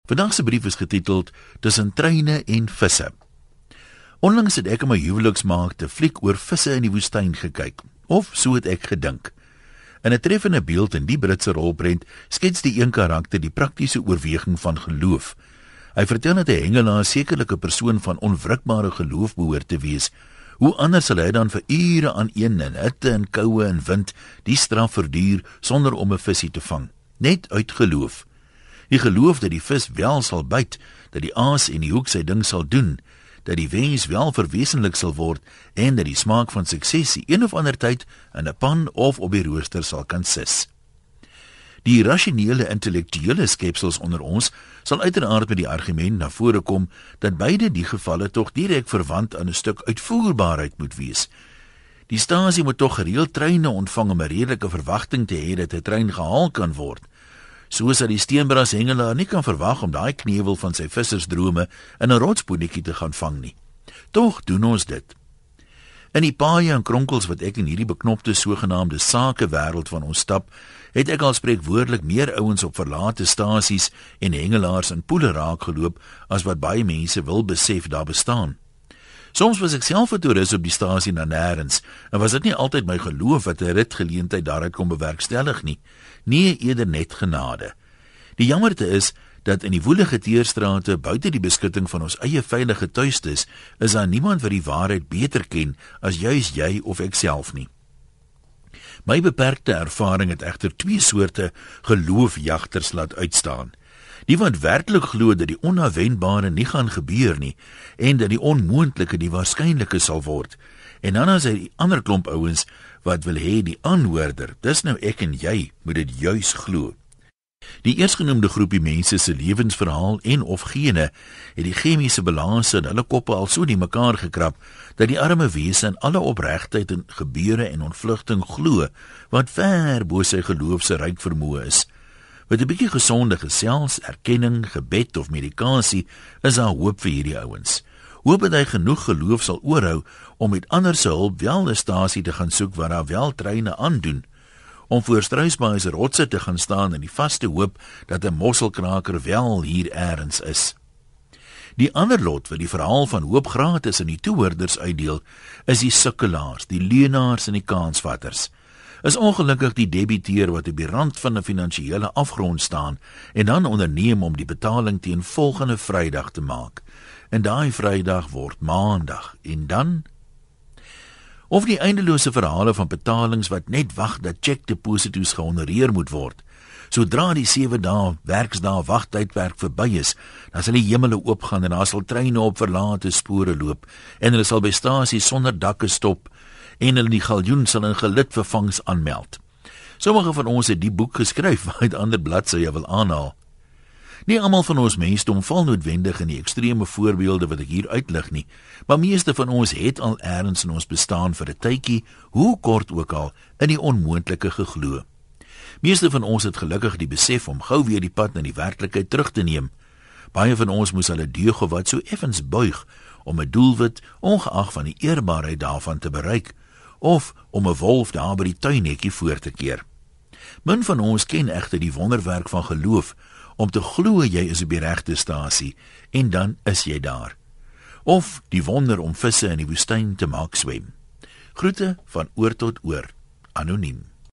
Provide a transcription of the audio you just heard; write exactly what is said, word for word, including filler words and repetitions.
Vandag se brief is getiteld Tussen treine en visse. Onlangs het ek in my huweliksmaak te fliek oor visse in die woestyn gekyk, of so het ek gedink. In 'n treffende beeld in die Britse rolprent skets die een karakter die praktiese oorweging van geloof. Hy vertel dat 'n hengelaar sekerlik 'n persoon van onwrikbare geloof behoort te wees. Hoe anders sal hy dan vir ure aan een in hitte en koue en wind die straf verduur sonder om 'n visie te vang, net uit geloof. Die geloof dat die vis wel sal byt, dat die aas en die hoek sy ding sal doen, dat die wens wel verwesenlik sal word en dat die smaak van sukses die een of ander tyd in 'n pan of op die rooster sal kan sis. Die rasionele intellektuele skepsels onder ons sal uiteraard met die argument na vore kom dat beide die gevalle tog direk verwant aan 'n stuk uitvoerbaarheid moet wees. Die stasie moet tog gereeld treine ontvang om 'n redelike verwagting te hê dat 'n trein gehaal kan word. Soos dat die steenbras hengelaar nie kan verwag om daai knewel van sy vissersdrome in 'n rotspoenetjie te gaan vang nie. Tog doen ons dit. In die paaie en kronkels wat ek in hierdie beknopte sogenaamde sakewêreld van ons stap, het ek al spreekwoordelik meer ouens op verlate stasies en hengelaars in poele raak geloop as wat baie mense wil besef daar bestaan. Soms was ek self 'n toerist op die stasie na nêrens, en was dit nie altyd my geloof wat 'n ritgeleentheid daaruit kon bewerkstellig nie. Nee, eerder net genade. Die jammerte is dat in die woelige teerstrate buite die beskutting van ons eie veilige tuistes is daar niemand wat die waarheid beter ken as juis jy of ek self nie. My beperkte ervaring het egter twee soorte geloofjagters laat uitstaan. Die wat werklik glo dat die onafwendbare nie gaan gebeur nie en dat die onmoontlike die waarskynlike sal word. En dan is hy die ander klomp ouens wat wil hê die aanhoorder, dis nou ek en jy, moet dit juis glo. Die eersgenoemde groepie mense se lewensverhaal en of gene het die chemiese balanse in hulle koppe al so die mekaar gekrap dat die arme wese in alle opregtheid en gebeure en ontvlugting glo wat ver bo sy geloof se ryk vermoë is. Met 'n bietjie gesonde gesels, erkenning, gebed of medikasie is daar hoop vir hierdie ouens. Hoop dat hy genoeg geloof sal oorhou om met ander se hulp wel 'n stasie te gaan soek waar daar wel treine aandoen, om voor struisbaai se rotse te gaan staan in die vaste hoop dat 'n mosselkraker wel hier eers is. Die ander lot wat die verhaal van hoop gratis aan die toehoorders uitdeel, is die sukkelaars, die leenaars en die kansvatters. Is ongelukkig die debiteur wat op die rand van 'n finansiële afgrond staan en dan onderneem om die betaling teen volgende Vrydag te maak. En daai Vrydag word Maandag en dan of die eindelose verhale van betalings wat net wag dat cheque-deposito's gehonoreer moet word. Sodra die sewe dae werksdae wagtydperk verby is, dan sal die hemele oopgaan en daar sal treine op verlate spore loop en hulle sal by stasies sonder dakke stop en hulle die galjoen sal in gelid vervangs aanmeld. Sommige van ons het die boek geskryf waaruit ander bladsye wil aanhaal. Nie almal van ons mensdom val noodwendig in die ekstreme voorbeelde wat ek hier uitlig nie, maar meeste van ons het al eers in ons bestaan vir 'n tydjie, hoe kort ook al, in die onmoontlike geglo. Meeste van ons het gelukkig die besef om gou weer die pad na die werklikheid terug te neem. Baie van ons moes hulle deug of wat so effens buig om 'n doelwit, ongeag van die eerbaarheid daarvan te bereik, of om 'n wolf daar by die tuinhekkie voor te keer. Min van ons ken egter die wonderwerk van geloof, om te glo jy is op die regte stasie, en dan is jy daar. Of die wonder om visse in die woestyn te maak swem. Groete van oor tot oor, anoniem.